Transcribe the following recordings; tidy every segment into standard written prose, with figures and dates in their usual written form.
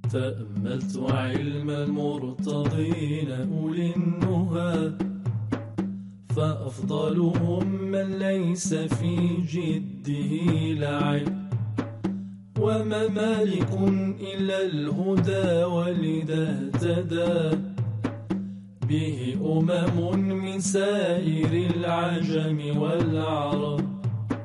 تأملت علم المرتضين أولي النهى، فأفضلهم من ليس في جده لعب، وما مالك إلا الهدى ولذا اهتدى به من سائر العجم والعرب.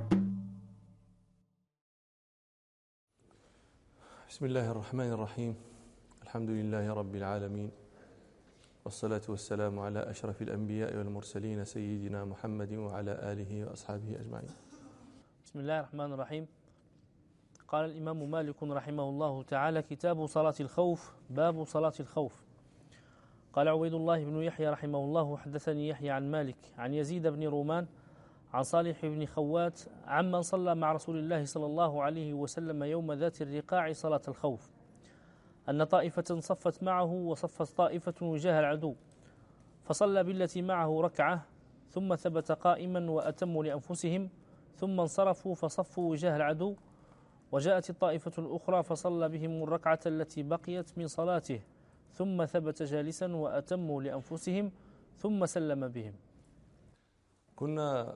بسم الله الرحمن الرحيم. الحمد لله رب العالمين، والصلاة والسلام على أشرف الأنبياء والمرسلين سيدنا محمد وعلى آله وأصحابه أجمعين. بسم الله الرحمن الرحيم. قال الإمام مالك رحمه الله تعالى: كتاب صلاة الخوف. باب صلاة الخوف. قال عبيد الله بن يحيى رحمه الله: حدثني يحيى عن مالك عن يزيد بن رومان عن صالح بن خوات عمن صلى مع رسول الله صلى الله عليه وسلم يوم ذات الرقاع صلاة الخوف، أن طائفة صفت معه وصفت طائفة وجاه العدو، فصلى بالتي معه ركعة ثم ثبت قائما وأتموا لأنفسهم، ثم انصرفوا فصفوا وجاه العدو، وجاءت الطائفة الأخرى فصلى بهم الركعة التي بقيت من صلاته، ثم ثبت جالسا وأتموا لأنفسهم، ثم سلم بهم. كنا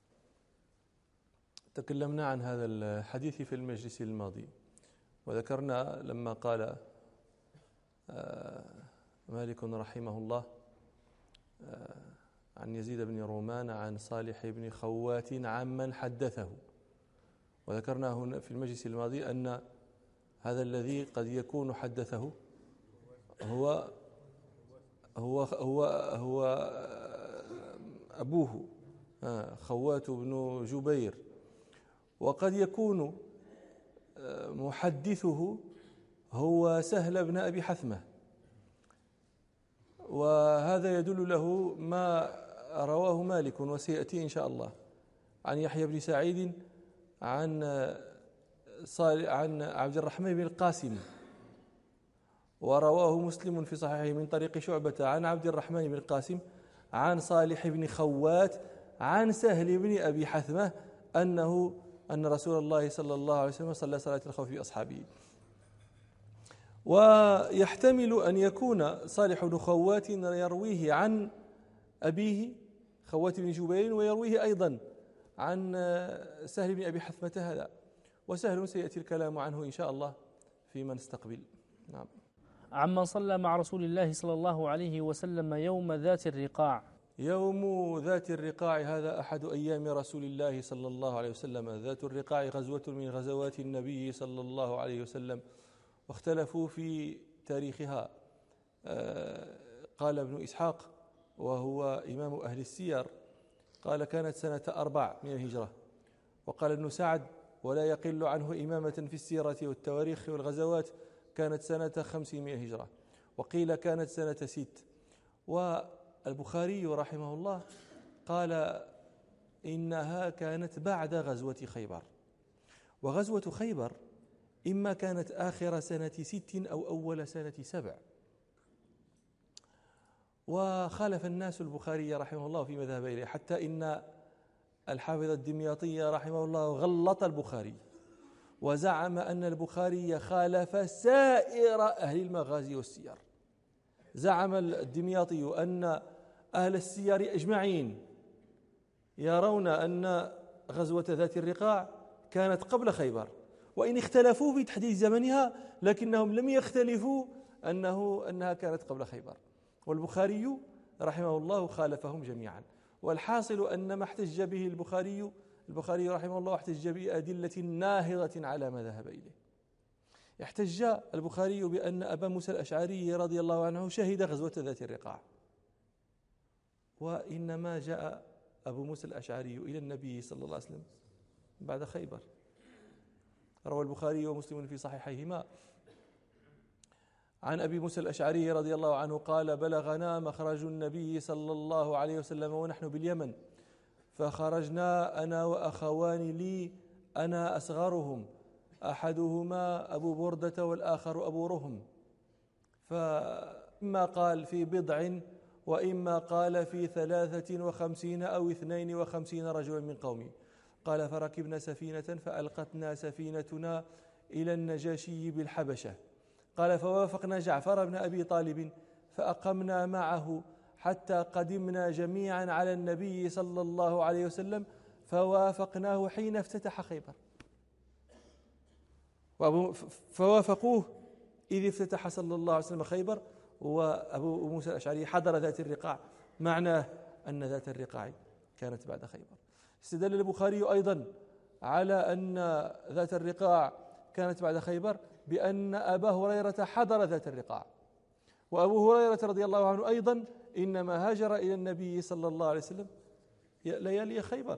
تكلمنا عن هذا الحديث في المجلس الماضي، وذكرنا لما قال مالك رحمه الله عن يزيد بن رومان عن صالح بن خوات عمن حدثه، وذكرنا هنا في المجلس الماضي أن هذا الذي قد يكون حدثه هو أبوه خوات بن جبير، وقد يكون محدثه هو سهل بن أبي حثمة، وهذا يدل له ما رواه مالك وسيأتي إن شاء الله عن يحيى بن سعيد عن عبد الرحمن بن القاسم، ورواه مسلم في صحيحه من طريق شعبة عن عبد الرحمن بن القاسم عن صالح بن خوات عن سهل بن أبي حثمة أن رسول الله صلى الله عليه وسلم صلى صلاة الخوف بأصحابه. ويحتمل أن يكون صالح بن خوات يرويه عن أبيه خوات بن جبير، ويرويه أيضا عن سهل بن أبي حثمة هذا، وسهل سيأتي الكلام عنه إن شاء الله فيما نستقبل. نعم. عمن صلى مع رسول الله صلى الله عليه وسلم يوم ذات الرقاع. يوم ذات الرقاع هذا أحد أيام رسول الله صلى الله عليه وسلم. ذات الرقاع غزوة من غزوات النبي صلى الله عليه وسلم، واختلفوا في تاريخها. قال ابن إسحاق وهو إمام أهل السير قال كانت سنة 4 من الهجرة، وقال ابن سعد ولا يقل عنه إمامة في السيرة والتواريخ والغزوات كانت سنة 5 من الهجرة، وقيل كانت سنة 6. والبخاري رحمه الله قال إنها كانت بعد غزوة خيبر، وغزوة خيبر إما كانت آخر سنة 6 أو أول سنة 7. وخالف الناس البخاري رحمه الله في مذهب إليه، حتى إن الحافظ الدمياطي رحمه الله غلط البخاري وزعم أن البخاري خالف سائر أهل المغازي والسير. زعم الدمياطي أن أهل السير أجمعين يرون أن غزوة ذات الرقاع كانت قبل خيبر، وإن اختلفوا في تحديد زمنها لكنهم لم يختلفوا أنها كانت قبل خيبر. والبخاري رحمه الله خالفهم جميعا. والحاصل أن ما احتج به البخاري رحمه الله احتج بأدلة ناهضة على ما ذهب إليه. احتج البخاري بأن أبا موسى الأشعري رضي الله عنه شهد غزوة ذات الرقاع، وإنما جاء أبو موسى الأشعري إلى النبي صلى الله عليه وسلم بعد خيبر. روى البخاري ومسلم في صحيحيهما عن أبي موسى الأشعري رضي الله عنه قال بلغنا مخرج النبي صلى الله عليه وسلم ونحن باليمن، فخرجنا أنا وأخوان لي أنا أصغرهم، أحدهما أبو بردة والآخر أبو رهم، فإما قال في 7 وإما قال في 53 أو 52 رجلا من قومي. قال فركبنا سفينة فألقتنا سفينتنا إلى النجاشي بالحبشة، قال فوافقنا جعفر بن أبي طالب فأقمنا معه حتى قدمنا جميعا على النبي صلى الله عليه وسلم فوافقناه حين افتتح خيبر. فوافقوه إذ افتتح صلى الله عليه وسلم خيبر، وأبو موسى الأشعري حضر ذات الرقاع، معناه أن ذات الرقاع كانت بعد خيبر. استدل البخاري أيضا على أن ذات الرقاع كانت بعد خيبر بأن أبا هريرة حضر ذات الرقاع، وأبو هريرة رضي الله عنه أيضا إنما هاجر إلى النبي صلى الله عليه وسلم ليالي خيبر.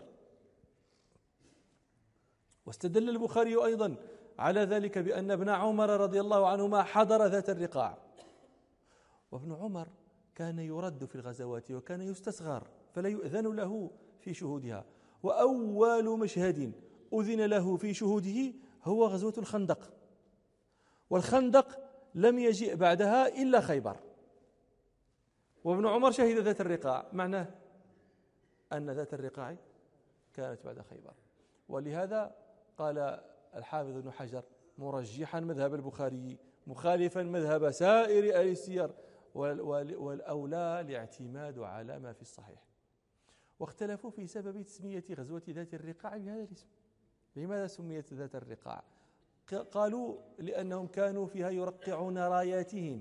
واستدل البخاري أيضا على ذلك بأن ابن عمر رضي الله عنهما حضر ذات الرقاع، وابن عمر كان يرد في الغزوات وكان يستصغر فلا يؤذن له في شهودها، وأول مشهد أذن له في شهوده هو غزوة الخندق، والخندق لم يجئ بعدها إلا خيبر، وابن عمر شهد ذات الرقاع، معناه أن ذات الرقاع كانت بعد خيبر. ولهذا قال الحافظ ابن حجر مرجحا مذهب البخاري مخالفا مذهب سائر أهل السير، والأولى الاعتماد على ما في الصحيح. واختلفوا في سبب تسمية غزوة ذات الرقاع بهذا الاسم. لماذا سميت ذات الرقاع؟ قالوا لأنهم كانوا فيها يرقعون راياتهم،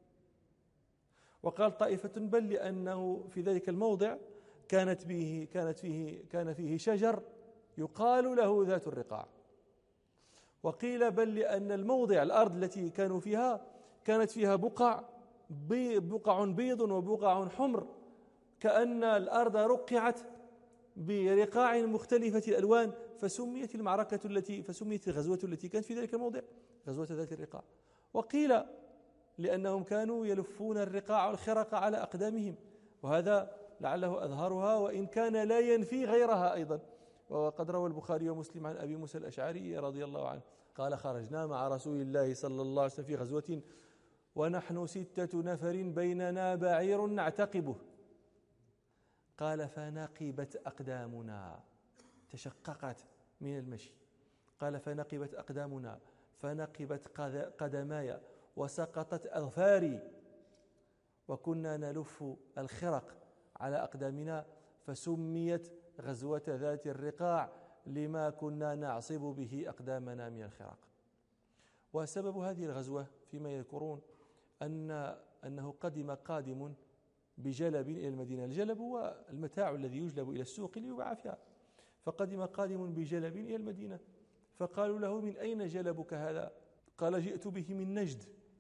وقال طائفة بل لأنه في ذلك الموضع كان فيه شجر يقال له ذات الرقاع، وقيل بل لأن الموضع الأرض التي كانوا فيها كانت فيها بقع بيض وبقع حمر، كأن الأرض رقعت برقاع مختلفة الألوان، فسميت الغزوة التي كانت في ذلك الموضع غزوة ذات الرقاع. وقيل لأنهم كانوا يلفون الرقاع والخرق على أقدامهم، وهذا لعله أظهرها وإن كان لا ينفي غيرها أيضا. وقد روى البخاري ومسلم عن أبي موسى الأشعري رضي الله عنه قال خرجنا مع رسول الله صلى الله عليه وسلم في غزوة ونحن 6 نفر بيننا بعير نعتقبه، قال فنقبت أقدامنا، تشققت من المشي، قال فنقبت أقدامنا فنقبت قدماي وسقطت أظفاري، وكنا نلف الخرق على أقدامنا، فسميت غزوة ذات الرقاع لما كنا نعصب به أقدامنا من الخرق. وسبب هذه الغزوة فيما يذكرون أنه قادم بجلب إلى المدينة. الجلب هو المتاع الذي يجلب إلى السوق ليباع فيها، فقدم قادم بجلب إلى المدينة، فقالوا له من أين جلبك هذا؟ قال جئت به من نجد،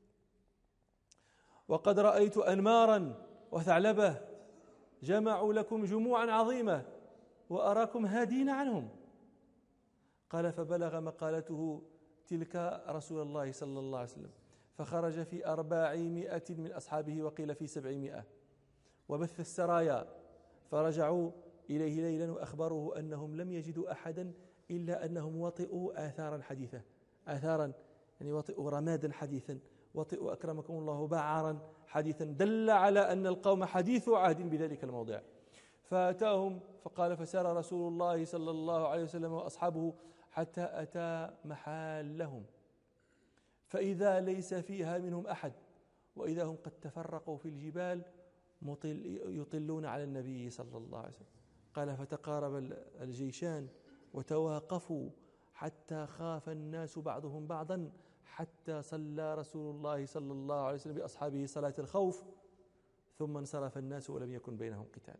وقد رأيت أنمارا وثعلبة جمعوا لكم جموعا عظيمة وأراكم هادين عنهم. قال فبلغ مقالته تلك رسول الله صلى الله عليه وسلم، فخرج في 400 من أصحابه وقيل في 700، وبث السرايا، فرجعوا إليه ليلا وأخبروه أنهم لم يجدوا أحدا إلا أنهم وطئوا آثارا حديثة، آثارا يعني وطئوا رمادا حديثا، وطئوا أكرمكم الله بعرا حديثا، دل على أن القوم حديث عهد بذلك الموضع. فأتاهم فقال فسار رسول الله صلى الله عليه وسلم وأصحابه حتى أتى محالهم، فإذا ليس فيها منهم أحد، وإذا هم قد تفرقوا في الجبال يطلون على النبي صلى الله عليه وسلم. قال فتقارب الجيشان وتواقفوا حتى خاف الناس بعضهم بعضا، حتى صلى رسول الله صلى الله عليه وسلم بأصحابه صلاة الخوف، ثم انصرف الناس ولم يكن بينهم قتال.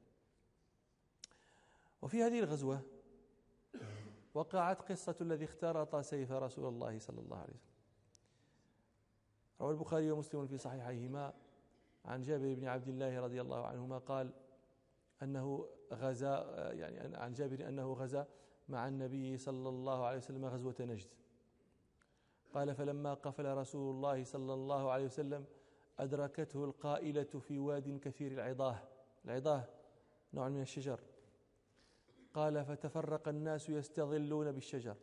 وفي هذه الغزوة وقعت قصة الذي اخترط سيف رسول الله صلى الله عليه وسلم. روى البخاري ومسلم في صحيحيهما عن جابر بن عبد الله رضي الله عنهما قال أنه غزا، يعني عن جابر أنه غزا مع النبي صلى الله عليه وسلم غزوة نجد. قال فلما قفل رسول الله صلى الله عليه وسلم أدركته القائلة في واد كثير العضاه نوع من الشجر. قال فتفرق الناس يستظلون بالشجر.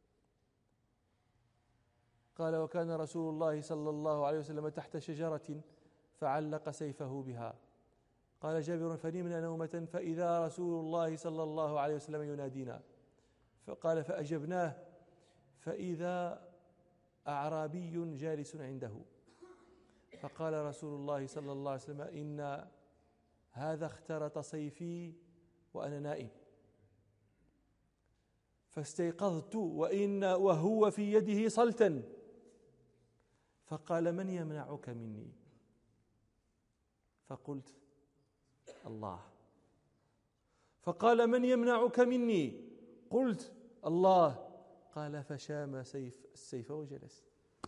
قال وكان رسول الله صلى الله عليه وسلم تحت شجرة فعلق سيفه بها. قال جابر فنمنا نومة فإذا رسول الله صلى الله عليه وسلم ينادينا، فقال فأجبناه فإذا أعرابي جالس عنده فقال رسول الله صلى الله عليه وسلم: إن هذا اخترط سيفي وأنا نائم، فاستيقظت وهو في يده صلتا، فقال: من يمنعك مني؟ فقلت: الله. فقال: من يمنعك مني؟ قلت: الله. قال: فشام السيف وجلس،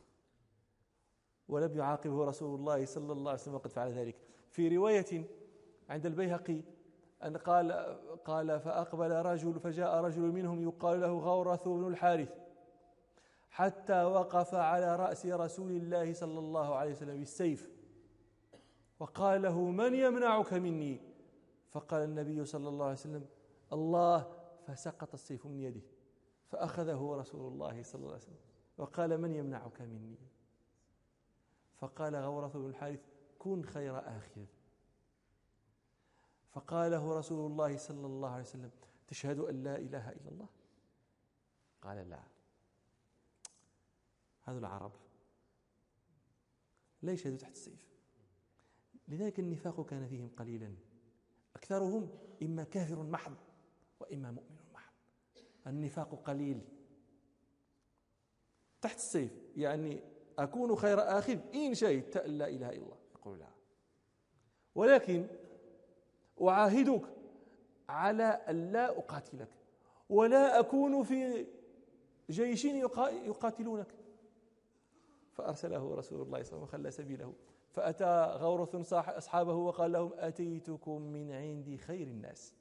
ولم يعاقبه رسول الله صلى الله عليه وسلم وقد فعل ذلك. في رواية عند البيهقي أن قال: فجاء رجل منهم يقال له غورث بن الحارث، حتى وقف على رأس رسول الله صلى الله عليه وسلم بالسيف، وقال له: من يمنعك مني؟ فقال النبي صلى الله عليه وسلم: الله. فسقط السيف من يده، فأخذه رسول الله صلى الله عليه وسلم وقال: من يمنعك مني؟ فقال غورث بن الحارث: كن خير آخذ. فقاله رسول الله صلى الله عليه وسلم: تشهد أن لا إله إلا الله؟ قال: لا. هذا العرب لا يشهدوا تحت السيف، لذلك النفاق كان فيهم قليلا، أكثرهم إما كافر محض وإما مؤمن محض. النفاق قليل تحت السيف، يعني أكون خير آخذ إن شهدت أن لا إله إلا الله، يقول لا، ولكن أعاهدك على أن لا أقاتلك ولا أكون في جيش يقاتلونك. فأرسله رسول الله صلى الله عليه وسلم وخلى سبيله، فأتى غورث أصحابه وقال لهم: أتيتكم من عند خير الناس.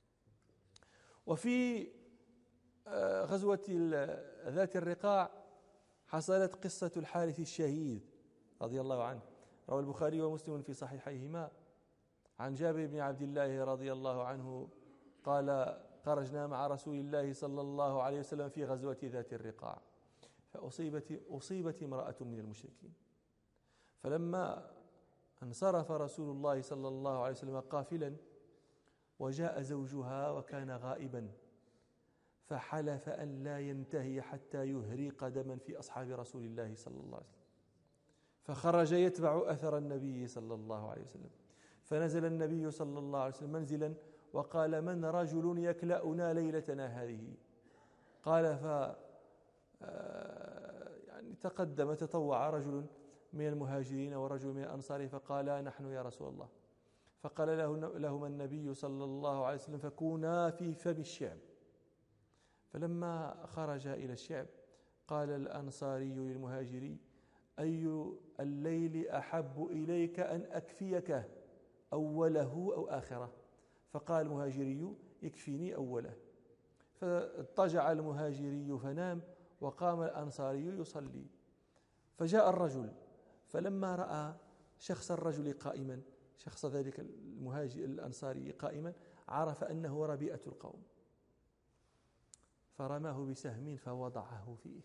وفي غزوة ذات الرقاع حصلت قصة الحارث الشهيد رضي الله عنه. روى البخاري ومسلم في صحيحيهما عن جابر بن عبد الله رضي الله عنه قال: خرجنا مع رسول الله صلى الله عليه وسلم في غزوة ذات الرقاع، فأصيبت امرأة من المشركين، فلما انصرف رسول الله صلى الله عليه وسلم قافلا وجاء زوجها وكان غائبا، فحلف أن لا ينتهي حتى يهريق دما في أصحاب رسول الله صلى الله عليه وسلم، فخرج يتبع أثر النبي صلى الله عليه وسلم، فنزل النبي صلى الله عليه وسلم منزلا وقال: من رجل يكلأنا ليلتنا هذه؟ قال يعني تطوع رجل من المهاجرين ورجل من الأنصار، فقال: نحن يا رسول الله. فقال لهما النبي صلى الله عليه وسلم: فكونا في فم الشعب. فلما خرج إلى الشعب قال الأنصاري للمهاجري: أي الليل أحب إليك أن أكفيك، أوله أو آخره؟ فقال المهاجري: يكفيني أوله. فاضطجع المهاجري فنام، وقام الأنصاري يصلي، فجاء الرجل، فلما رأى شخص الرجل قائما، شخص ذلك المهاجر الأنصاري قائما، عرف أنه ربيئة القوم، فرماه بسهم فوضعه فيه،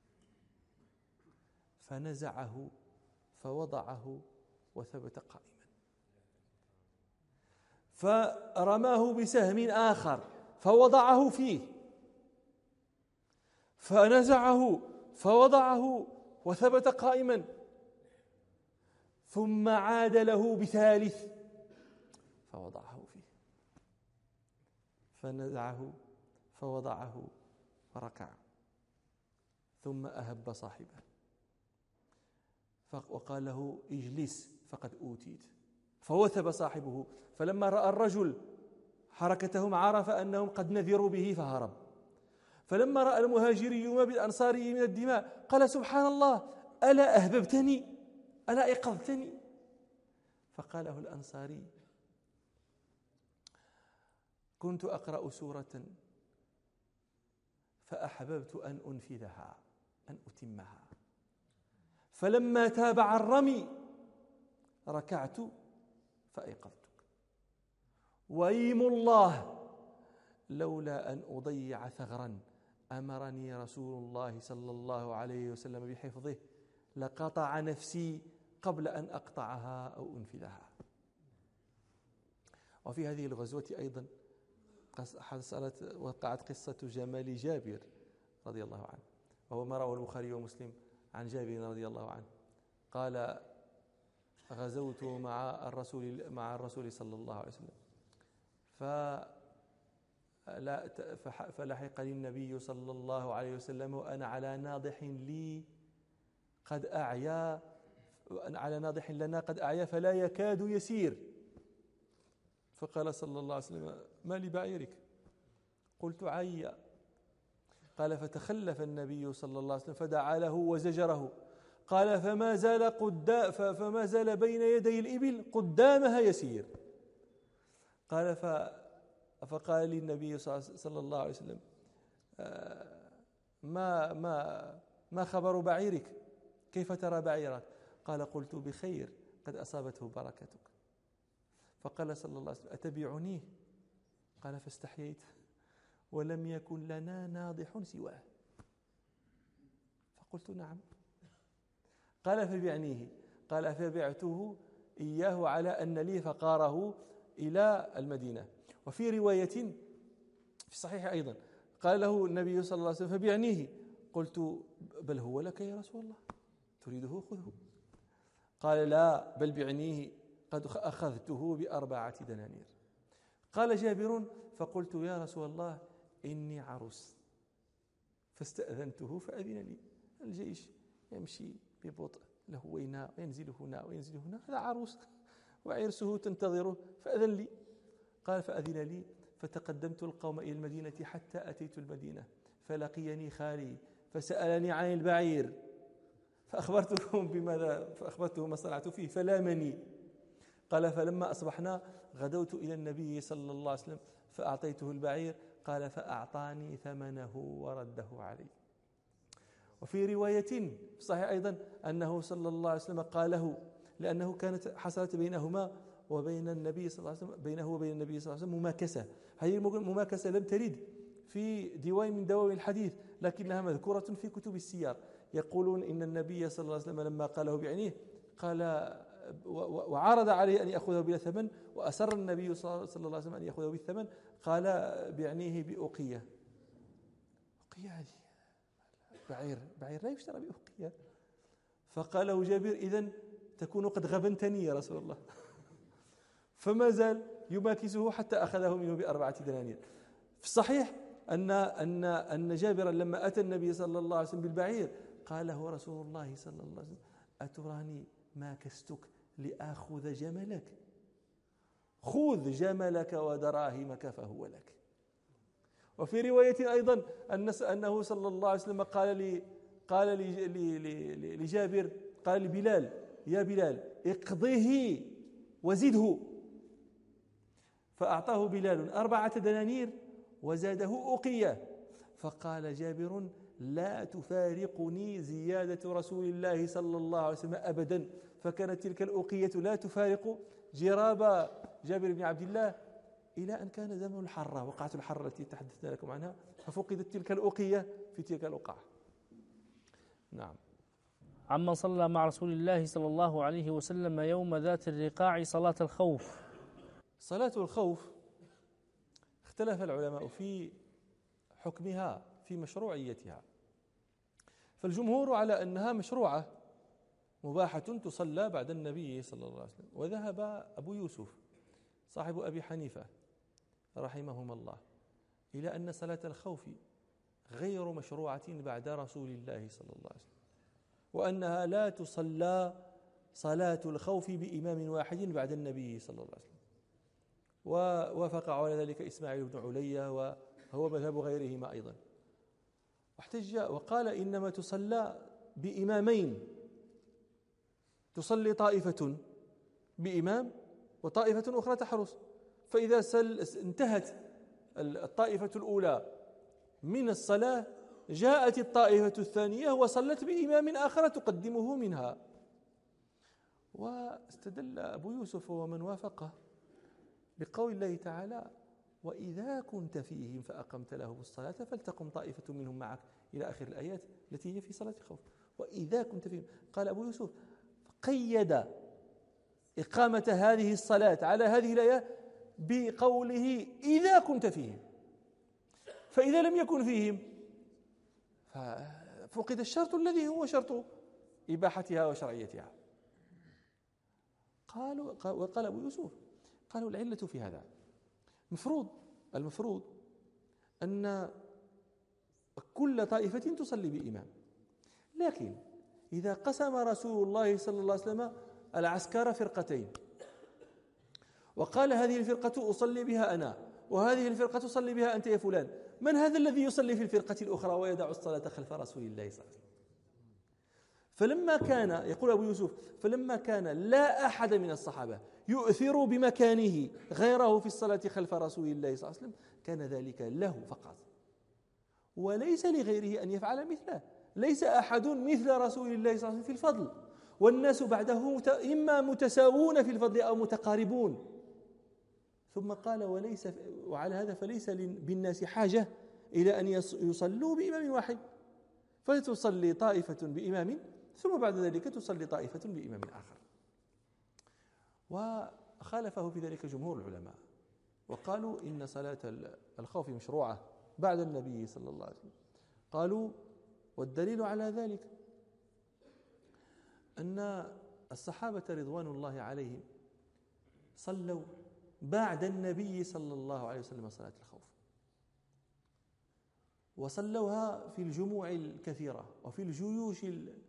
فنزعه فوضعه وثبت قائما، فرماه بسهم آخر فوضعه فيه، فنزعه فوضعه وثبت قائما، ثم عاد له بثالث فوضعه فيه، فنزعه فوضعه فركع، ثم أهب صاحبه وقال له: اجلس فقد أوتيت. فوثب صاحبه، فلما رأى الرجل حركتهم عرف أنهم قد نذروا به فهرب. فلما رأى المهاجري ما بالأنصاري من الدماء قال: سبحان الله، ألا أهببتني؟ ألا أيقظتني؟ فقاله الأنصاري: كنت أقرأ سورة فأحببت أن أنفذها، أن أتمها، فلما تابع الرمي ركعت فأيقظتك، وأيم الله لولا أن أضيع ثغرا أمرني رسول الله صلى الله عليه وسلم بحفظه لقطع نفسي قبل أن أقطعها أو أنفذها. وفي هذه الغزوة أيضا وقعت قصة جمال جابر رضي الله عنه، وهو ما رواه البخاري ومسلم عن جابر رضي الله عنه قال: غزوت مع الرسول صلى الله عليه وسلم، فلحقني النبي صلى الله عليه وسلم وأنا على ناضح لي قد أعيا، على ناضح لنا قد أعيا فلا يكاد يسير. فقال صلى الله عليه وسلم: ما لبعيرك؟ قلت: عيا. قال: فتخلف النبي صلى الله عليه وسلم فدعا له وزجره. قال: فما زال بين يدي الإبل قدامها يسير. قال: فقال لي النبي صلى الله عليه وسلم: ما خبر بعيرك؟ كيف ترى بعيرك؟ قال: قلت: بخير، قد أصابته بركتك. فقال صلى الله عليه وسلم: أتبيعنيه؟ قال: فاستحييت، ولم يكن لنا ناضح سواه. فقلت: نعم. قال: فبعنيه. قال: فبعته إياه على أن لي فقاره إلى المدينة. وفي رواية في الصحيح أيضا قال له النبي صلى الله عليه وسلم: فبعنيه. قلت: بل هو لك يا رسول الله، تريده خذه. قال: لا، بل بعنيه، قد أخذته ب4 دنانير. قال جابر: فقلت: يا رسول الله إني عروس، فاستأذنته فأذن لي. الجيش يمشي ببطء، له ويناء، وينزل هنا وينزل هنا، هذا عروس وعرسه تنتظره، فأذن لي. قال: فأذن لي، فتقدمت القوم إلى المدينة حتى أتيت المدينة، فلقيني خالي فسألني عن البعير، فأخبرته ما صنعت فيه فلامني. قال: فلما أصبحنا غدوت إلى النبي صلى الله عليه وسلم فأعطيته البعير. قال: فأعطاني ثمنه ورده علي. وفي رواية صحيح أيضا أنه صلى الله عليه وسلم قال له، لأنه كانت حصلت بينهما وبين النبي صلى الله عليه وسلم، بينه وبين النبي صلى الله عليه وسلم مماكسة. هذه المماكسة لم ترد في ديوان من دواوين الحديث، لكنها مذكورة في كتب السير. يقولون إن النبي صلى الله عليه وسلم لما قاله بعينيه قال وعرض عليه أن يأخذه بلا ثمن، وأسر النبي صلى الله عليه وسلم أن يأخذه بالثمن، قال بعنيه بأقية. أقية هذه بعير لا يشترى بأقية. فقال له جابر: إذن تكون قد غبنتني يا رسول الله. فما زال يماكسه حتى أخذه منه ب4 دنانير. في الصحيح أن جابرا لما أتى النبي صلى الله عليه وسلم بالبعير قال له رسول الله صلى الله عليه وسلم: أتراني ماكستك لآخذ جملك؟ خذ جملك ودراهمك فهو لك. وفي رواية أيضا أنه صلى الله عليه وسلم قال لجابر، قال لبلال: يا بلال اقضيه وزده. فأعطاه بلال 4 دنانير وزاده أقية. فقال جابر: لا تفارقني زيادة رسول الله صلى الله عليه وسلم أبدا. فكانت تلك الأقية لا تفارق جراب جابر بن عبد الله إلى أن كان زمن الحرة، وقعة الحرة التي تحدثنا لكم عنها، ففقدت تلك الأقية في تلك الوقعة. نعم. عمن صلى مع رسول الله صلى الله عليه وسلم يوم ذات الرقاع صلاة الخوف. صلاة الخوف اختلف العلماء في حكمها، في مشروعيتها. فالجمهور على أنها مشروعة مباحة تصلى بعد النبي صلى الله عليه وسلم. وذهب أبو يوسف صاحب أبي حنيفة رحمهما الله إلى أن صلاة الخوف غير مشروعة بعد رسول الله صلى الله عليه وسلم، وأنها لا تصلى صلاة الخوف بإمام واحد بعد النبي صلى الله عليه وسلم. ووافق على ذلك إسماعيل بن علية، وهو مذهب غيرهما أيضا. واحتج وقال: إنما تصلى بإمامين، تصلي طائفة بإمام وطائفة أخرى تحرس، فإذا انتهت الطائفة الأولى من الصلاة جاءت الطائفة الثانية وصلت بإمام آخر تقدمه منها. واستدل أبو يوسف ومن وافقه بقول الله تعالى: وإذا كنت فيهم فأقمت لهم الصلاة فلتقم طائفة منهم معك، إلى آخر الآيات التي هي في صلاة الخوف. وإذا كنت فيهم، قال أبو يوسف: قيد إقامة هذه الصلاة على هذه الآية بقوله إذا كنت فيهم، فإذا لم يكن فيهم ففقد الشرط الذي هو شرط إباحتها وشرعيتها. وقال أبو يوسف قالوا العلة في هذا المفروض أن كل طائفة تصلي بإمام، لكن إذا قسم رسول الله صلى الله عليه وسلم العسكر فرقتين وقال هذه الفرقة أصلي بها أنا وهذه الفرقة تصلي بها أنت يا فلان، من هذا الذي يصلي في الفرقة الأخرى ويدع الصلاة خلف رسول الله صلى الله عليه وسلم؟ فلما كان يقول أبو يوسف فلما كان لا أحد من الصحابة يؤثر بمكانه غيره في الصلاة خلف رسول الله صلى الله عليه وسلم كان ذلك له فقط وليس لغيره أن يفعل مثله. ليس أحد مثل رسول الله صلى الله عليه وسلم في الفضل، والناس بعده إما متساوون في الفضل أو متقاربون. ثم قال وعلى هذا فليس بالناس حاجة إلى أن يصلوا بإمام واحد، فتصلي طائفة بإمام ثم بعد ذلك تصلي طائفة بإمام آخر. وخالفه في ذلك جمهور العلماء وقالوا إن صلاة الخوف مشروعة بعد النبي صلى الله عليه وسلم. قالوا والدليل على ذلك أن الصحابة رضوان الله عليهم صلوا بعد النبي صلى الله عليه وسلم صلاة الخوف، وصلوها في الجموع الكثيرة وفي الجيوش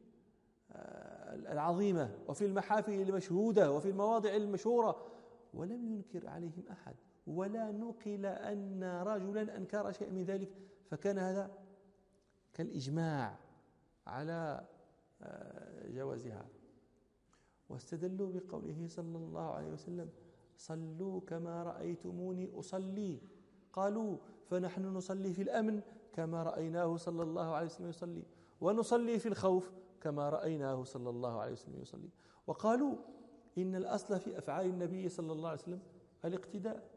العظيمة وفي المحافل المشهودة وفي المواضع المشهورة، ولم ينكر عليهم أحد ولا نقل أن رجلا أنكر شيء من ذلك، فكان هذا كالإجماع على جوازها. واستدلوا بقوله صلى الله عليه وسلم صلوا كما رأيتموني أصلي، قالوا فنحن نصلي في الأمن كما رأيناه صلى الله عليه وسلم يصلي، ونصلي في الخوف كما رأيناه صلى الله عليه وسلم يصلي. وقالوا إن الأصل في أفعال النبي صلى الله عليه وسلم الاقتداء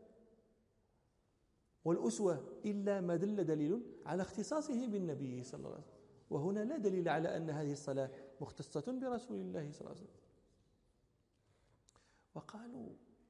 والأسوة إلا ما دل دليل على اختصاصه بالنبي صلى الله عليه وسلم، وهنا لا دليل على أن هذه الصلاة مختصة برسول الله صلى الله عليه وسلم. وقالوا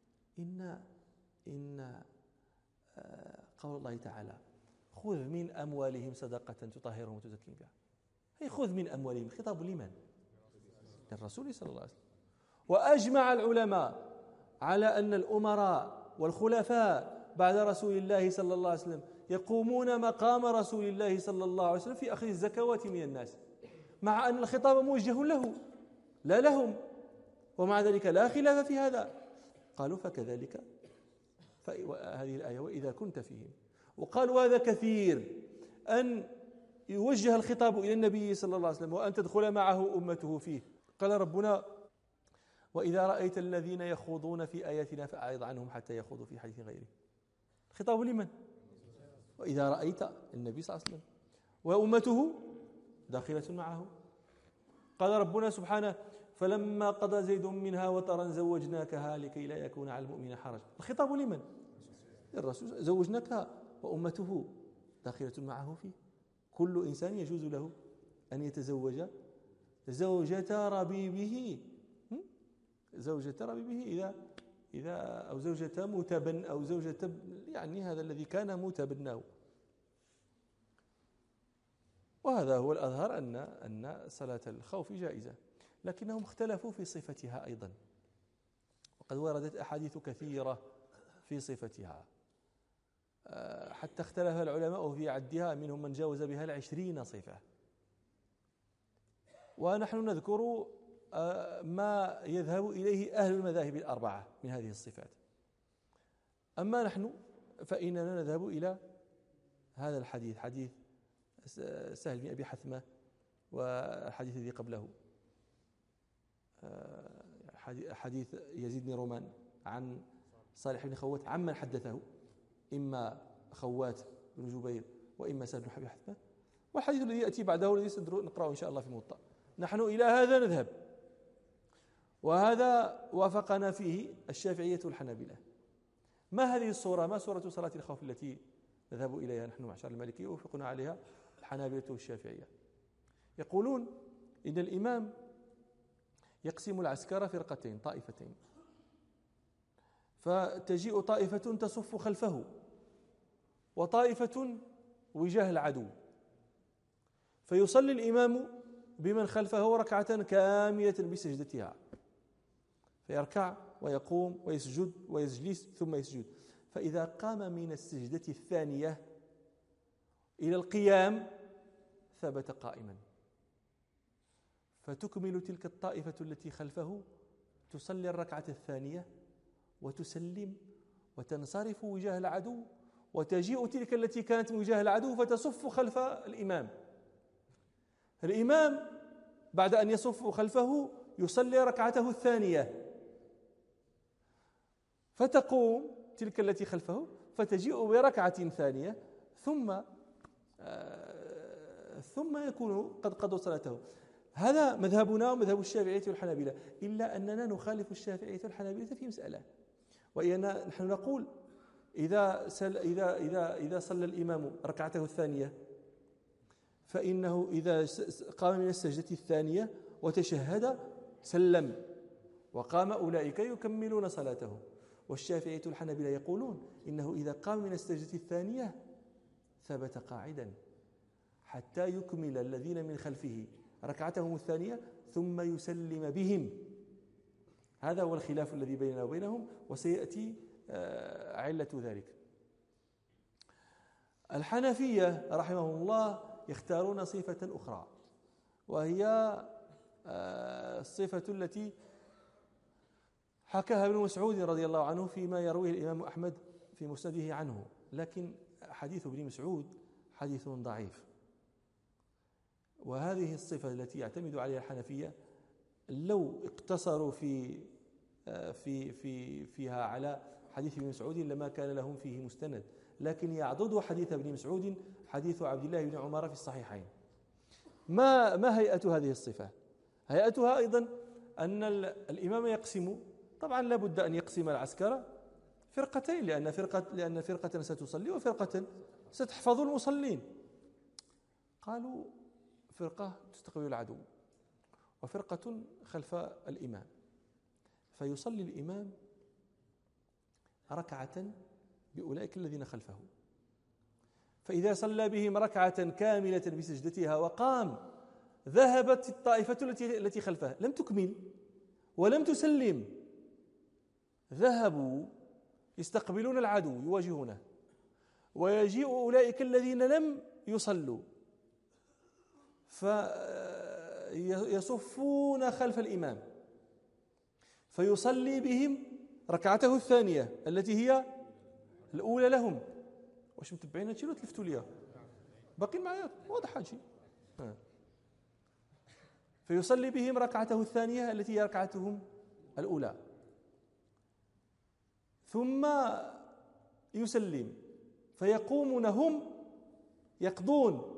إن قول الله تعالى خذ من أموالهم صدقة تطهرهم وتزكيهم بها، هي خذ من أموالهم، الخطاب لمن؟ للرسول صلى الله عليه وسلم. وأجمع العلماء على أن الأمراء والخلفاء بعد رسول الله صلى الله عليه وسلم يقومون مقام رسول الله صلى الله عليه وسلم في أخذ الزكوات من الناس، مع أن الخطاب موجه له لا لهم، ومع ذلك لا خلاف في هذا. قالوا فكذلك هذه الآية وإذا كنت فيهم. وقالوا هذا كثير أن يوجه الخطاب إلى النبي صلى الله عليه وسلم وأن تدخل معه أمته فيه. قال ربنا وإذا رأيت الذين يخوضون في آياتنا فأعرض عنهم حتى يخوضوا في حديث غيره. الخطاب لمن؟ وإذا رأيت النبي صلى الله عليه وسلم وأمته داخلة معه. قال ربنا سبحانه فلما قضى زيد منها وطرا زوجناكها لكي لا يكون على المؤمن حرج. الخطاب لمن؟ الرسول، زوجناكها وأمته داخلة معه فيه. كل إنسان يجوز له أن يتزوج زوجة ربيبه، إذا أو زوجة متبن أو زوجة يعني هذا الذي كان متبناه. وهذا هو الأظهر أن صلاة الخوف جائزة، لكنهم اختلفوا في صفتها أيضا، وقد وردت أحاديث كثيرة في صفتها حتى اختلف العلماء في عدها، منهم من جاوز بها 20 صفة. ونحن نذكر ما يذهب إليه أهل المذاهب الأربعة من هذه الصفات. أما نحن فإننا نذهب إلى هذا الحديث، حديث سهل بن أبي حثمة والحديث الذي قبله، حديث يزيد بن رومان عن صالح بن خوات عمن حدثه، إما خوات بن جبير وإما سهل بن أبي حثمة، والحديث الذي يأتي بعده الذي سنقرأه إن شاء الله في الموطأ. نحن إلى هذا نذهب، وهذا وافقنا فيه الشافعية والحنابلة. ما هذه الصورة؟ ما صورة صلاة الخوف التي نذهب إليها نحن معشر المالكية ووافقنا عليها الحنابلة والشافعية؟ يقولون إن الإمام يقسم العسكر فرقتين، طائفتين، فتجيء طائفة تصف خلفه وطائفة وجاه العدو، فيصلي الإمام بمن خلفه ركعة كاملة بسجدتها، فيركع ويقوم ويسجد ويجلس ثم يسجد. فإذا قام من السجدة الثانية إلى القيام ثبت قائما، فتكمل تلك الطائفة التي خلفه، تصلي الركعة الثانية وتسلم وتنصرف وجاه العدو، وتجيء تلك التي كانت من وجاه العدو فتصف خلف الإمام. الإمام بعد أن يصف خلفه يصلي ركعته الثانية، فتقوم تلك التي خلفه فتجيء بركعة ثانية ثم يكون قد قضوا صلاته. هذا مذهبنا ومذهب الشافعية والحنابلة، إلا أننا نخالف الشافعية والحنابلة في مسألة، وهي نحن نقول إذا صلى الإمام ركعته الثانية فإنه إذا قام من السجدة الثانية وتشهد سلم، وقام أولئك يكملون صلاته. والشافعية والحنابلة يقولون إنه إذا قام من السجدة الثانية ثبت قاعدا حتى يكمل الذين من خلفه ركعتهم الثانية ثم يسلم بهم. هذا هو الخلاف الذي بيننا وبينهم، وسيأتي علة ذلك. الحنفية رحمهم الله يختارون صفة أخرى، وهي الصفة التي حكاها ابن مسعود رضي الله عنه فيما يرويه الإمام أحمد في مسنده عنه، لكن حديث ابن مسعود حديث ضعيف. وهذه الصفة التي يعتمد عليها الحنفية لو اقتصروا فيها على حديث ابن مسعود لما كان لهم فيه مستند، لكن يعضد حديث ابن مسعود حديث عبد الله بن عمر في الصحيحين. ما هيئة هذه الصفة؟ هيئتها أيضا أن الإمام يقسم، طبعا لا بد أن يقسم العسكر فرقتين، لأن فرقة ستصلي وفرقة ستحفظ المصلين. قالوا فرقة تستقبل العدو وفرقة خلف الإمام، فيصلي الإمام ركعة بأولئك الذين خلفه، فإذا صلى بهم ركعة كاملة بسجدتها وقام ذهبت الطائفة التي خلفها لم تكمل ولم تسلم، ذهبوا يستقبلون العدو يواجهونه، ويجيء أولئك الذين لم يصلوا فيصفون خلف الإمام فيصلي بهم ركعته الثانية التي هي الأولى لهم. واش متبعين هادشي ولا تلفتوا ليا؟ باقي معايا واضح هادشي. فيصلي بهم ركعته الثانية التي هي ركعتهم الأولى، ثم يسلم، فيقومون هم يقضون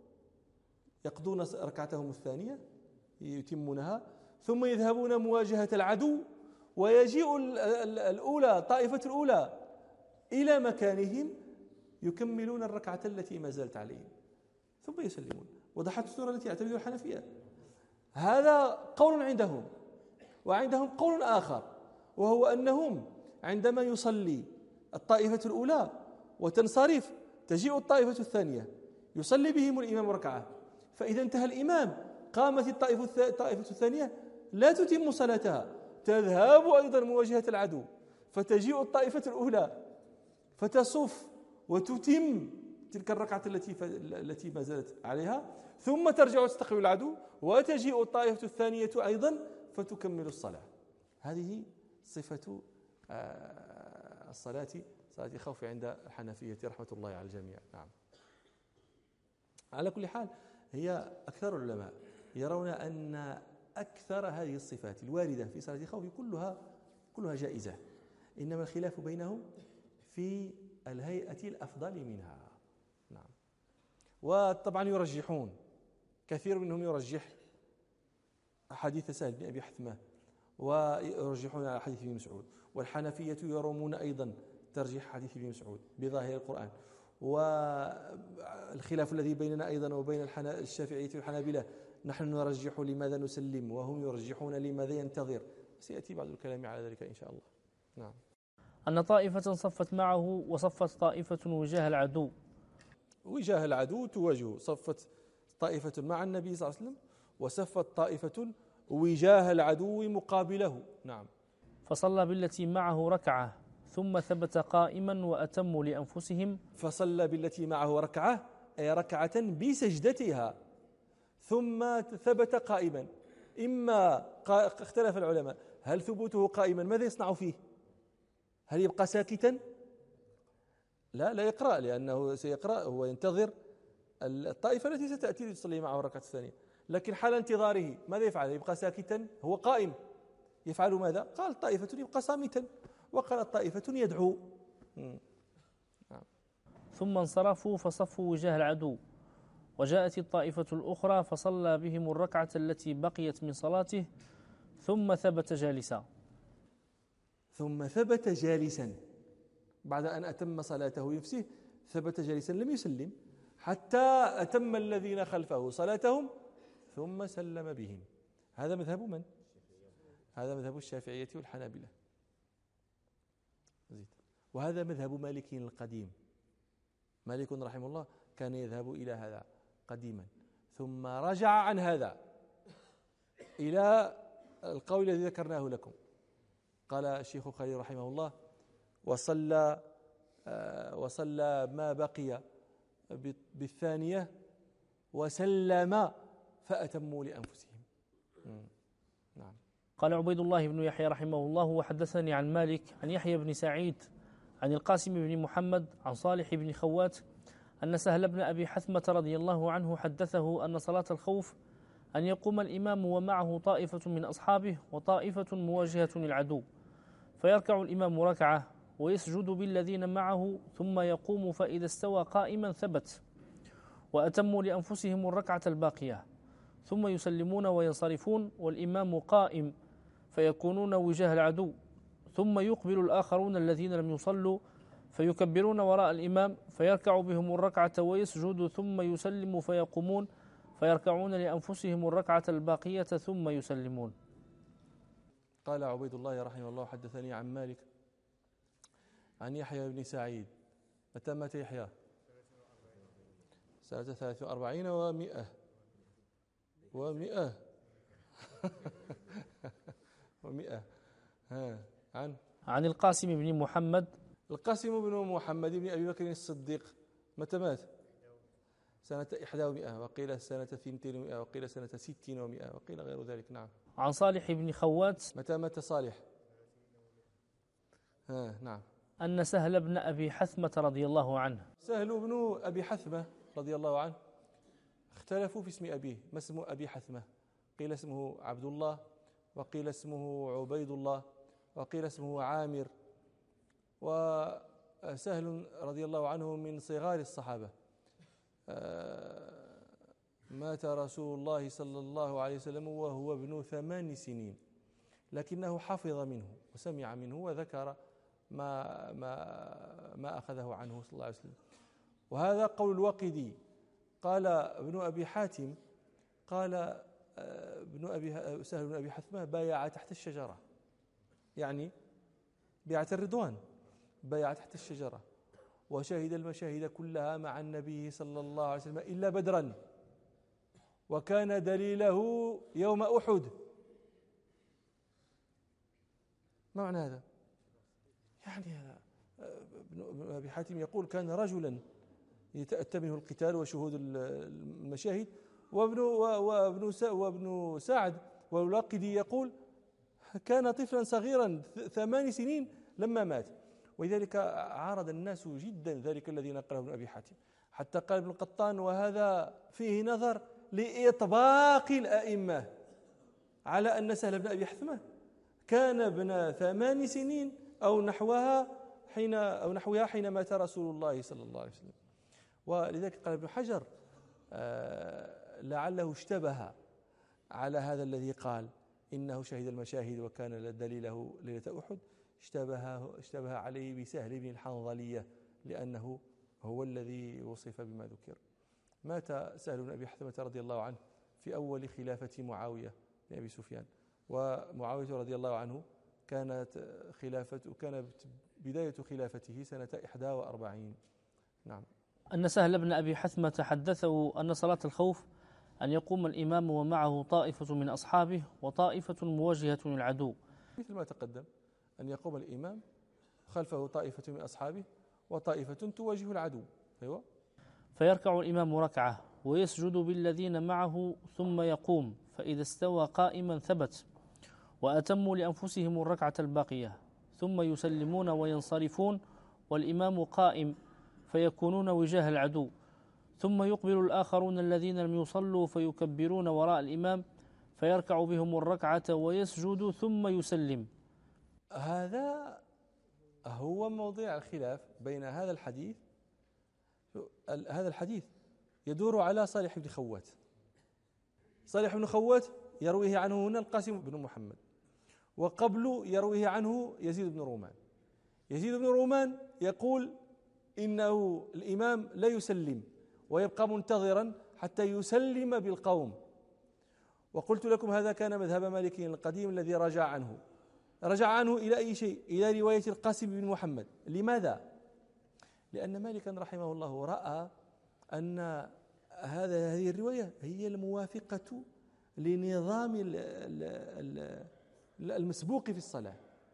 ركعتهم الثانية يتمونها، ثم يذهبون مواجهة العدو، ويجيء الأولى طائفة الأولى إلى مكانهم يكملون الركعة التي ما زالت عليهم ثم يسلمون. وضحت الصورة التي يعتمدها الحنفية. هذا قول عندهم، وعندهم قول آخر، وهو أنهم عندما يصلي الطائفة الأولى وتنصرف تجيء الطائفة الثانية يصلي بهم الإمام ركعة، فإذا انتهى الإمام قامت الطائفة الثانية لا تتم صلاتها، تذهب أيضا مواجهة العدو، فتجيء الطائفة الأولى فتصف وتتم تلك الركعة التي ما زالت عليها، ثم ترجع تستقبل العدو، وتجيء الطائفة الثانية أيضا فتكمل الصلاة. هذه صفة الصلاة، صلاة الخوف عند الحنفية رحمة الله على الجميع. نعم. على كل حال هي أكثر العلماء يرون أن أكثر هذه الصفات الواردة في صلاة الخوف كلها جائزة، إنما الخلاف بينهم في الهيئة الأفضل منها. نعم. وطبعا يرجحون، كثير منهم يرجح حديث سهل بن أبي حثمة ويرجحون على حديث ابن مسعود، والحنفية يرمون أيضا ترجيح حديث ابن مسعود بظاهر القرآن. والخلاف الذي بيننا أيضا وبين الشافعية والحنابلة، نحن نرجح لماذا نسلم وهم يرجحون لماذا ينتظر. سيأتي بعض الكلام على ذلك إن شاء الله. نعم. أن طائفة صفت معه وصفت طائفة وجاه العدو. وجاه العدو تواجه، صفت طائفة مع النبي صلى الله عليه وسلم وصفت طائفة وجاه العدو مقابله. نعم. فصلى بالتي معه ركعة ثم ثبت قائما وأتموا لأنفسهم. فصلى بالتي معه ركعة أي ركعة بسجدتها ثم ثبت قائما. إما اختلف العلماء هل ثبوته قائما ماذا يصنع فيه؟ هل يبقى ساكتا؟ لا يقرأ، لأنه سيقرأ، هو ينتظر الطائفة التي ستأتي لتصلي معه الركعة الثانية. لكن حال انتظاره ماذا يفعل؟ يبقى ساكتا؟ هو قائم، يفعل ماذا؟ قال طائفة يبقى صامتا، وقال طائفة يدعو. ثم انصرفوا فصفوا وجاه العدو، وجاءت الطائفة الأخرى فصلى بهم الركعة التي بقيت من صلاته ثم ثبت جالسا. ثم ثبت جالسا بعد أن أتم صلاته نفسه، ثبت جالسا لم يسلم حتى أتم الذين خلفه صلاتهم ثم سلم بهم. هذا مذهب من؟ هذا مذهب الشافعية والحنابلة، وهذا مذهب مالك القديم. مالك رحمه الله كان يذهب إلى هذا قديما، ثم رجع عن هذا إلى القول الذي ذكرناه لكم. قال الشيخ خليل رحمه الله وصلى ما بقي بالثانية وسلم فأتموا لأنفسهم. نعم. قال عبيد الله بن يحيى رحمه الله وحدثني عن مالك عن يحيى بن سعيد عن القاسم بن محمد عن صالح بن خوات أن سهل بن أبي حثمة رضي الله عنه حدثه أن صلاة الخوف أن يقوم الإمام ومعه طائفة من أصحابه وطائفة مواجهة العدو، فيركع الإمام ركعة ويسجد بالذين معه ثم يقوم، فإذا استوى قائما ثبت، وأتموا لأنفسهم الركعة الباقية، ثم يسلمون وينصرفون والإمام قائم فيكونون وجاه العدو، ثم يقبل الآخرون الذين لم يصلوا فيكبرون وراء الإمام فيركع بهم الركعة ويسجد ثم يسلم فيقومون فيركعون لأنفسهم الركعة الباقية ثم يسلمون. قال عبيد الله رحمه الله حدثني عن مالك عن يحيى بن سعيد. متى مات يحيى؟ سنة 43 و100 و100 عن القاسم بن محمد. القاسم بن محمد بن أبي بكر الصديق. متى مات؟ سنة 100 وقيل سنة 200 وقيل سنة 60 و100 وقيل غير ذلك. نعم. عن صالح بن خوات. متى مات صالح؟ نعم. أن سهل بن أبي حثمة رضي الله عنه. سهل بن أبي حثمة رضي الله عنه اختلفوا في اسم أبيه. ما اسم أبي حثمة؟ قيل اسمه عبد الله، وقيل اسمه عبيد الله، وقيل اسمه عامر. وسهل رضي الله عنه من صغار الصحابة. مات رسول الله صلى الله عليه وسلم وهو ابن 8 سنين، لكنه حفظ منه وسمع منه وذكر ما أخذه عنه صلى الله عليه وسلم. وهذا قول الواقدي. قال ابن أبي حاتم قال سهل بن أبي حثمة بايع تحت الشجرة، يعني بيعة الرضوان، بايع تحت الشجرة، وشهد المشاهد كلها مع النبي صلى الله عليه وسلم إلا بدرا، وكان دليله يوم أحد. ما معنى هذا؟ يعني ابن أبي حاتم يقول كان رجلا يتأتى منه القتال وشهود المشاهد، وابن سعد والواقدي يقول كان طفلا صغيرا 8 سنين لما مات. ولذلك عارض الناس جدا ذلك الذي نقله ابن أبي حاتم، حتى قال ابن القطان وهذا فيه نظر لإطباق الأئمة على أن سهل بن أبي حثمة كان ابن 8 سنين أو نحوها حين مات رسول الله صلى الله عليه وسلم. ولذلك قال ابن حجر لعله اشتبه على هذا الذي قال إنه شهد المشاهد وكان دليله ليلة أحد، اشتبه عليه بسهل بن الحنظلية لأنه هو الذي وصف بما ذكر. مات سهل بن أبي حثمة رضي الله عنه في أول خلافة معاوية بن أبي سفيان، ومعاوية رضي الله عنه كانت بداية خلافته سنة 41. نعم. أن سهل بن أبي حثمة حدثه أن صلاة الخوف أن يقوم الإمام ومعه طائفة من أصحابه وطائفة مواجهة العدو، مثل ما تقدم أن يقوم الإمام خلفه طائفة من أصحابه وطائفة تواجه العدو. أيوة. فيركع الإمام ركعة ويسجد بالذين معه ثم يقوم، فإذا استوى قائما ثبت، وأتموا لأنفسهم الركعة الباقية، ثم يسلمون وينصرفون والإمام قائم، فيكونون وجاه العدو، ثم يقبل الآخرون الذين لم يصلوا فيكبرون وراء الإمام، فيركع بهم الركعة ويسجد ثم يسلم. هذا هو موضع الخلاف بين هذا الحديث. هذا الحديث يدور على صالح بن خوات. صالح بن خوات يرويه عنه هنا القاسم بن محمد، وقبل يرويه عنه يزيد بن رومان. يزيد بن رومان يقول إنه الإمام لا يسلم ويبقى منتظرا حتى يسلم بالقوم. وقلت لكم هذا كان مذهب مالكي القديم الذي رجع عنه إلى أي شيء؟ إلى رواية القاسم بن محمد. لماذا؟ لأن مالكا رحمه الله رأى أن هذه الرواية هي الموافقة لنظام المسبوق في الصلاة.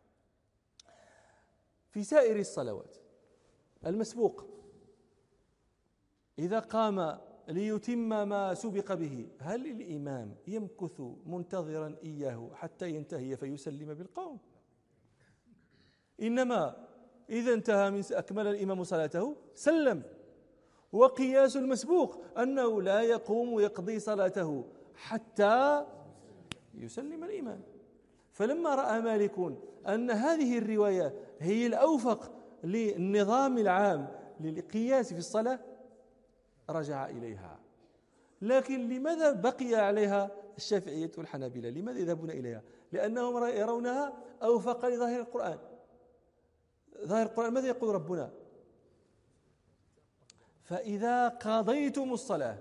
في سائر الصلوات المسبوق إذا قام ليتم ما سبق به، هل الإمام يمكث منتظرا إياه حتى ينتهي فيسلم بالقوم؟ إنما إذا انتهى من أكمل الإمام صلاته سلم. وقياس المسبوق أنه لا يقوم ويقضي صلاته حتى يسلم الإمام. فلما رأى مالك أن هذه الرواية هي الأوفق للنظام العام للقياس في الصلاة رجع إليها. لكن لماذا بقي عليها الشافعية والحنابلة؟ لماذا يذهبون إليها؟ لأنهم يرونها أوفق لظاهر القرآن. ظاهر القرآن ماذا يقول ربنا؟ فإذا قضيتم الصلاة،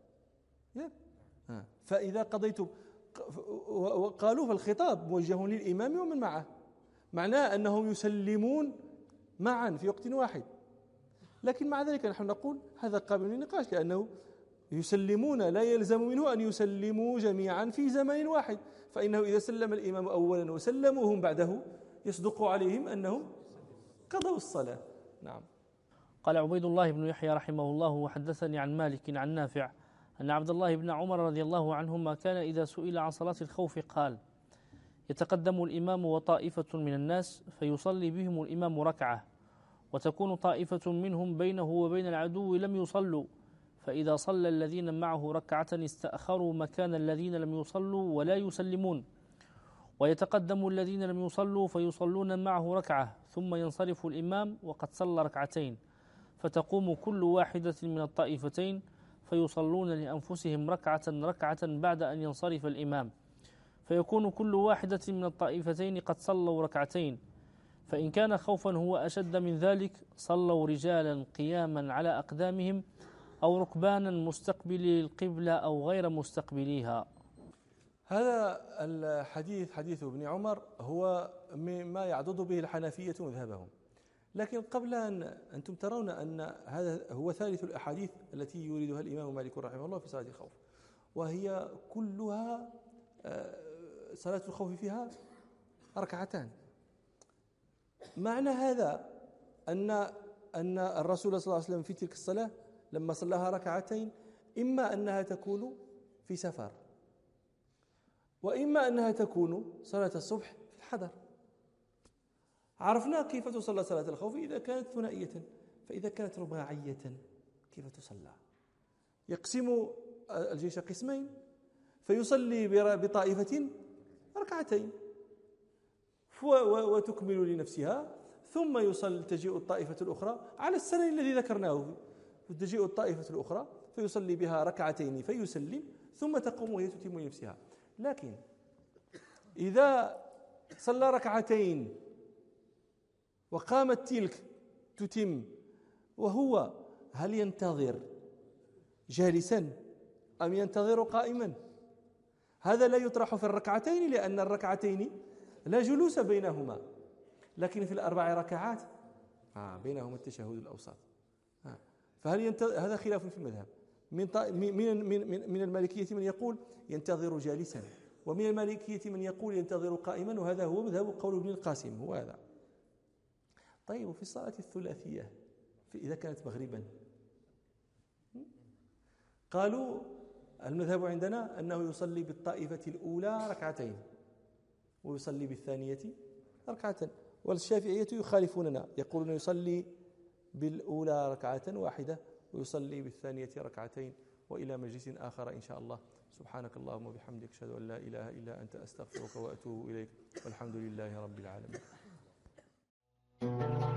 فإذا قضيتم، وقالوا فالخطاب موجه للإمام ومن معه، معناه أنهم يسلمون معا في وقت واحد. لكن مع ذلك نحن نقول هذا قابل للنقاش، لأنه يسلمون لا يلزم منه أن يسلموا جميعا في زمن واحد، فإنه إذا سلم الإمام أولا وسلموهم بعده يصدق عليهم أنهم قضوا الصلاة. نعم. قال عبيد الله بن يحيى رحمه الله: وحدثني عن مالك عن نافع أن عبد الله بن عمر رضي الله عنهما كان إذا سئل عن صلاة الخوف قال: يتقدم الإمام وطائفة من الناس فيصلي بهم الإمام ركعة، وتكون طائفة منهم بينه وبين العدو لم يصلوا، فإذا صلى الذين معه ركعة استأخروا مكان الذين لم يصلوا ولا يسلمون، ويتقدم الذين لم يصلوا فيصلون معه ركعة، ثم ينصرف الإمام وقد صلى ركعتين، فتقوم كل واحدة من الطائفتين فيصلون لأنفسهم ركعة بعد أن ينصرف الإمام، فيكون كل واحدة من الطائفتين قد صلوا ركعتين. فإن كان خوفا هو أشد من ذلك صلوا رجالا قياما على أقدامهم أو ركبانا مستقبلي القبلة أو غير مستقبليها. هذا الحديث حديث ابن عمر هو مما يعضد به الحنفية مذهبهم. لكن قبل أن أنتم ترون أن هذا هو ثالث الأحاديث التي يريدها الإمام مالك رحمه الله في صلاة الخوف، وهي كلها صلاة الخوف فيها ركعتان. معنى هذا أن الرسول صلى الله عليه وسلم في تلك الصلاة لما صلاها ركعتين إما أنها تكون في سفر، وإما أنها تكون صلاة الصبح في الحضر. عرفنا كيف تصلى صلاة الخوف إذا كانت ثنائية، فإذا كانت رباعية كيف تصلى؟ يقسم الجيش قسمين فيصلي بطائفة ركعتين وتكمل لنفسها، ثم تجيء الطائفة الأخرى على السنن الذي ذكرناه، تجيء الطائفة الأخرى فيصلي بها ركعتين فيسلم، ثم تقوم وهي تتم لنفسها. لكن إذا صلى ركعتين وقامت تلك تتم، وهو هل ينتظر جالسا أم ينتظر قائما؟ هذا لا يطرح في الركعتين، لأن الركعتين لا جلوس بينهما، لكن في الأربع ركعات بينهما التشهد الأوسط. فهل هذا خلاف في المذهب. من المالكية من يقول ينتظر جالسا، ومن المالكية من يقول ينتظر قائما، وهذا هو مذهب قول ابن القاسم، هو هذا. طيب، وفي الصلاة الثلاثية إذا كانت مغربا، قالوا المذهب عندنا أنه يصلي بالطائفة الأولى ركعتين ويصلي بالثانية ركعة، والشافعية يخالفوننا، يقولون يصلي بالأولى ركعة واحدة ويصلي بالثانية ركعتين. وإلى مجلس آخر إن شاء الله. سبحانك اللهم وبحمدك، أشهد أن لا إله إلا أنت، أستغفرك وأتوب إليك، والحمد لله رب العالمين.